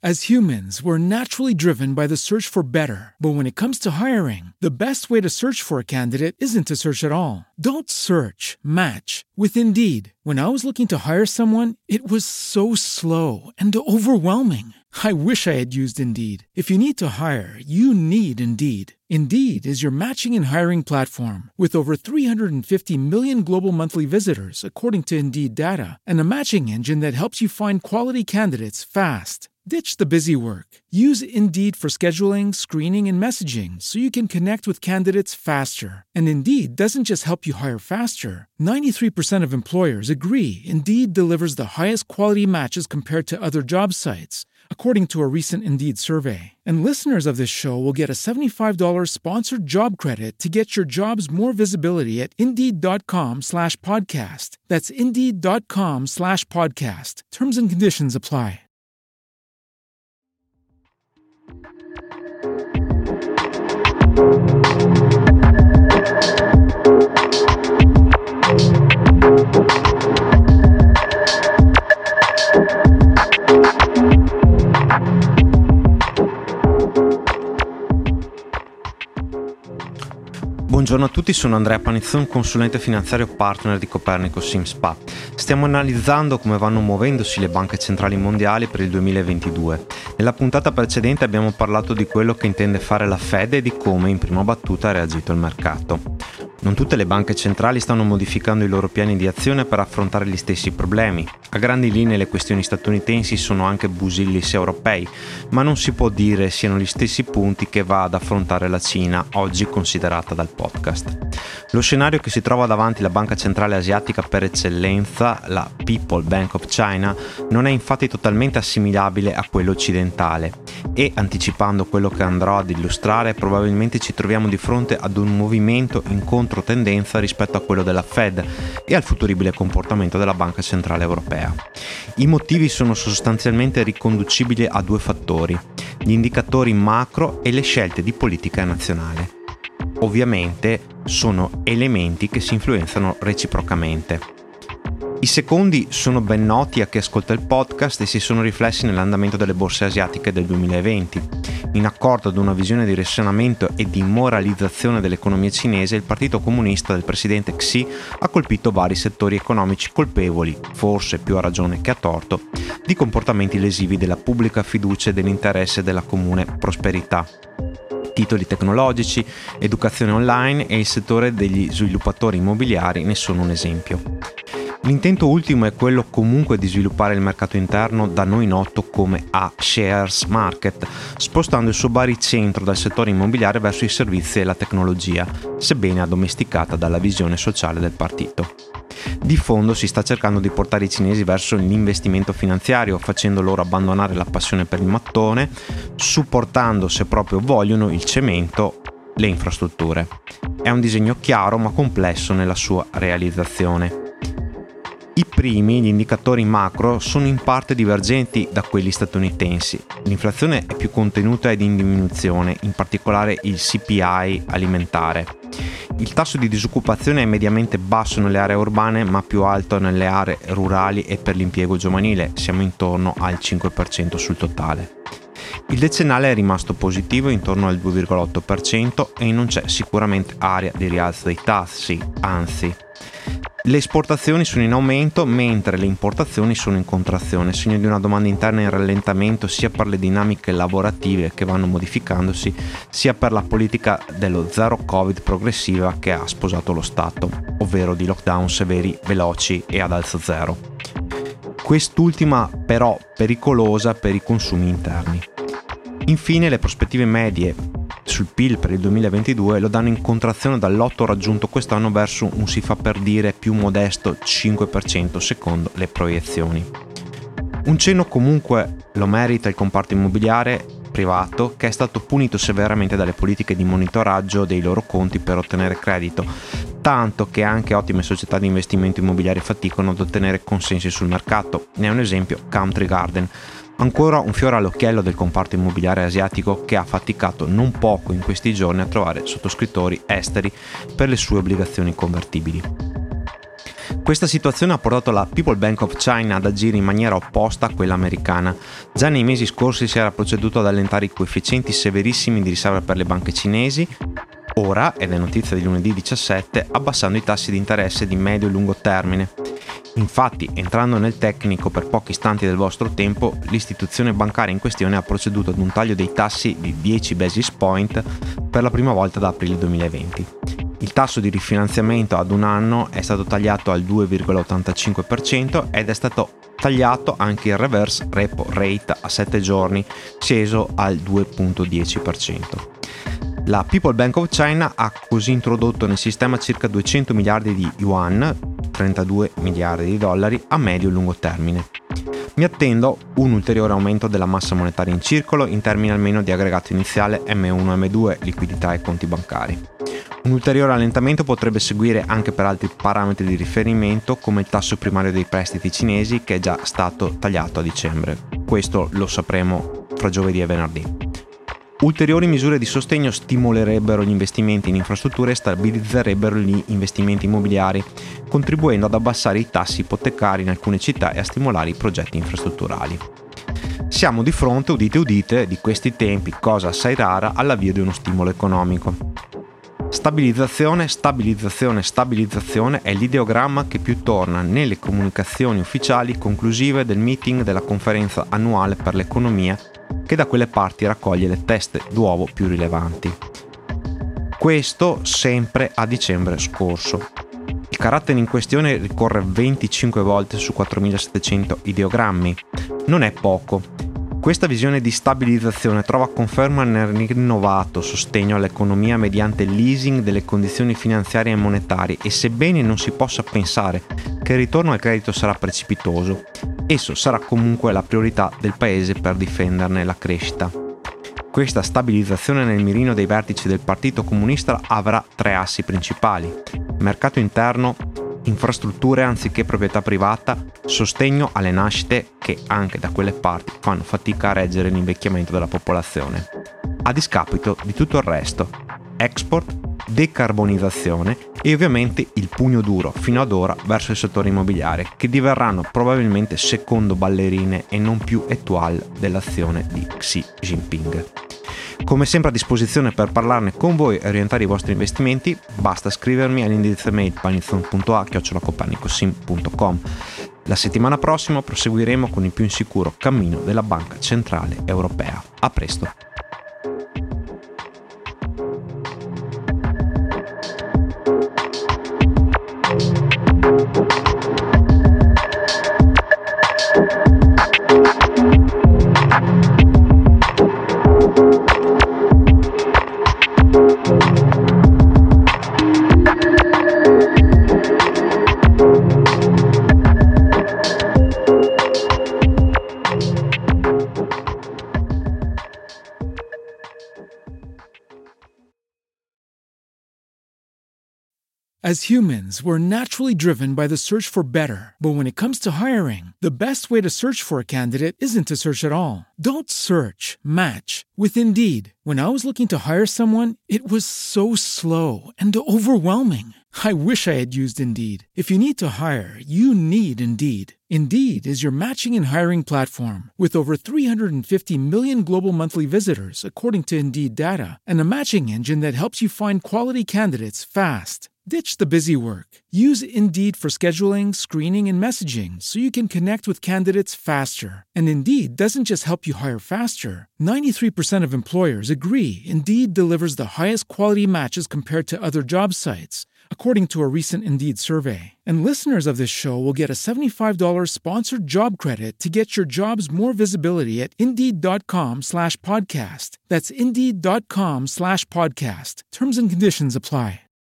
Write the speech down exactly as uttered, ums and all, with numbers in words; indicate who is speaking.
Speaker 1: As humans, we're naturally driven by the search for better. But when it comes to hiring, the best way to search for a candidate isn't to search at all. Don't search, match with Indeed. When I was looking to hire someone, it was so slow and overwhelming. I wish I had used Indeed. If you need to hire, you need Indeed. Indeed is your matching and hiring platform with over three hundred fifty million global monthly visitors, according to Indeed data, and a matching engine that helps you find quality candidates fast. Ditch the busy work. Use Indeed for scheduling, screening, and messaging so you can connect with candidates faster. And Indeed doesn't just help you hire faster. ninety-three percent of employers agree Indeed delivers the highest quality matches compared to other job sites, according to a recent Indeed survey. And listeners of this show will get a seventy-five dollars sponsored job credit to get your jobs more visibility at Indeed.com slash podcast. That's Indeed.com slash podcast. Terms and conditions apply.
Speaker 2: Buongiorno a tutti, sono Andrea Panizzon, consulente finanziario partner di Copernico SimSpa. Stiamo analizzando come vanno muovendosi le banche centrali mondiali per il duemilaventidue. Nella puntata precedente abbiamo parlato di quello che intende fare la Fed e di come in prima battuta ha reagito il mercato. Non tutte le banche centrali stanno modificando i loro piani di azione per affrontare gli stessi problemi. A grandi linee le questioni statunitensi sono anche busillis europei, ma non si può dire siano gli stessi punti che va ad affrontare la Cina, oggi considerata dal podcast. Lo scenario che si trova davanti la banca centrale asiatica per eccellenza, la People Bank of China, non è infatti totalmente assimilabile a quello occidentale e, anticipando quello che andrò ad illustrare, probabilmente ci troviamo di fronte ad un movimento in controtendenza rispetto a quello della Fed e al futuribile comportamento della Banca Centrale Europea. I motivi sono sostanzialmente riconducibili a due fattori: gli indicatori macro e le scelte di politica nazionale. Ovviamente sono elementi che si influenzano reciprocamente. I secondi sono ben noti a chi ascolta il podcast e si sono riflessi nell'andamento delle borse asiatiche del duemilaventi. In accordo ad una visione di risanamento e di moralizzazione dell'economia cinese, il Partito Comunista del presidente Xi ha colpito vari settori economici colpevoli, forse più a ragione che a torto, di comportamenti lesivi della pubblica fiducia e dell'interesse della comune prosperità. Titoli tecnologici, educazione online e il settore degli sviluppatori immobiliari ne sono un esempio. L'intento ultimo è quello comunque di sviluppare il mercato interno da noi noto come A-Shares Market, spostando il suo baricentro dal settore immobiliare verso i servizi e la tecnologia, sebbene addomesticata dalla visione sociale del partito. Di fondo si sta cercando di portare i cinesi verso l'investimento finanziario, facendo loro abbandonare la passione per il mattone, supportando, se proprio vogliono, il cemento, le infrastrutture. È un disegno chiaro ma complesso nella sua realizzazione. I primi, gli indicatori macro, sono in parte divergenti da quelli statunitensi. L'inflazione è più contenuta ed in diminuzione, in particolare il C P I alimentare. Il tasso di disoccupazione è mediamente basso nelle aree urbane, ma più alto nelle aree rurali e per l'impiego giovanile, siamo intorno al cinque per cento sul totale. Il decennale è rimasto positivo intorno al due virgola otto per cento e non c'è sicuramente area di rialzo dei tassi, anzi. Le esportazioni sono in aumento mentre le importazioni sono in contrazione, segno di una domanda interna in rallentamento sia per le dinamiche lavorative che vanno modificandosi, sia per la politica dello zero Covid progressiva che ha sposato lo Stato, ovvero di lockdown severi, veloci e ad alzo zero. Quest'ultima però pericolosa per i consumi interni. Infine le prospettive medie sul P I L per il duemilaventidue lo danno in contrazione dall'otto raggiunto quest'anno verso un si fa per dire più modesto cinque per cento secondo le proiezioni. Un cenno comunque lo merita il comparto immobiliare privato, che è stato punito severamente dalle politiche di monitoraggio dei loro conti per ottenere credito, tanto che anche ottime società di investimento immobiliare faticano ad ottenere consensi sul mercato. Ne è un esempio Country Garden. Ancora un fiore all'occhiello del comparto immobiliare asiatico che ha faticato non poco in questi giorni a trovare sottoscrittori esteri per le sue obbligazioni convertibili. Questa situazione ha portato la People Bank of China ad agire in maniera opposta a quella americana. Già nei mesi scorsi si era proceduto ad allentare i coefficienti severissimi di riserva per le banche cinesi, ora, ed è notizia di lunedì diciassette, abbassando i tassi di interesse di medio e lungo termine. Infatti, entrando nel tecnico per pochi istanti del vostro tempo, l'istituzione bancaria in questione ha proceduto ad un taglio dei tassi di dieci basis point per la prima volta da aprile duemilaventi. Il tasso di rifinanziamento ad un anno è stato tagliato al due virgola ottantacinque per cento ed è stato tagliato anche il reverse repo rate a sette giorni, sceso al due virgola dieci per cento. La People Bank of China ha così introdotto nel sistema circa duecento miliardi di yuan, trentadue miliardi di dollari, a medio e lungo termine. Mi attendo un ulteriore aumento della massa monetaria in circolo in termini almeno di aggregato iniziale emme uno emme due, liquidità e conti bancari. Un ulteriore allentamento potrebbe seguire anche per altri parametri di riferimento come il tasso primario dei prestiti cinesi, che è già stato tagliato a dicembre. Questo lo sapremo fra giovedì e venerdì. Ulteriori misure di sostegno stimolerebbero gli investimenti in infrastrutture e stabilizzerebbero gli investimenti immobiliari, contribuendo ad abbassare i tassi ipotecari in alcune città e a stimolare i progetti infrastrutturali. Siamo di fronte, udite udite, di questi tempi, cosa assai rara, all'avvio di uno stimolo economico. Stabilizzazione, stabilizzazione, stabilizzazione è l'ideogramma che più torna nelle comunicazioni ufficiali conclusive del meeting della conferenza annuale per l'economia, che da quelle parti raccoglie le teste d'uovo più rilevanti. Questo sempre a dicembre scorso. Il carattere in questione ricorre venticinque volte su quattromilasettecento ideogrammi. Non è poco. Questa visione di stabilizzazione trova conferma nel rinnovato sostegno all'economia mediante il leasing delle condizioni finanziarie e monetarie, e sebbene non si possa pensare che il ritorno al credito sarà precipitoso, esso sarà comunque la priorità del paese per difenderne la crescita. Questa stabilizzazione nel mirino dei vertici del Partito Comunista avrà tre assi principali: mercato interno, infrastrutture anziché proprietà privata, sostegno alle nascite che anche da quelle parti fanno fatica a reggere l'invecchiamento della popolazione. A discapito di tutto il resto, export, decarbonizzazione e ovviamente il pugno duro fino ad ora verso il settore immobiliare, che diverranno probabilmente secondo ballerine e non più étoile dell'azione di Xi Jinping. Come sempre a disposizione per parlarne con voi e orientare i vostri investimenti, basta scrivermi all'indirizzo mail panizon punto a chiocciola copernicosim punto com. La settimana prossima proseguiremo con il più insicuro cammino della Banca Centrale Europea. A presto!
Speaker 1: As humans, we're naturally driven by the search for better. But when it comes to hiring, the best way to search for a candidate isn't to search at all. Don't search, match with Indeed. When I was looking to hire someone, it was so slow and overwhelming. I wish I had used Indeed. If you need to hire, you need Indeed. Indeed is your matching and hiring platform with over three hundred fifty million global monthly visitors, according to Indeed data, and a matching engine that helps you find quality candidates fast. Ditch the busy work. Use Indeed for scheduling, screening, and messaging so you can connect with candidates faster. And Indeed doesn't just help you hire faster. ninety-three percent of employers agree Indeed delivers the highest quality matches compared to other job sites, according to a recent Indeed survey. And listeners of this show will get a seventy-five dollars sponsored job credit to get your jobs more visibility at Indeed.com slash podcast. That's Indeed.com slash podcast. Terms and conditions apply.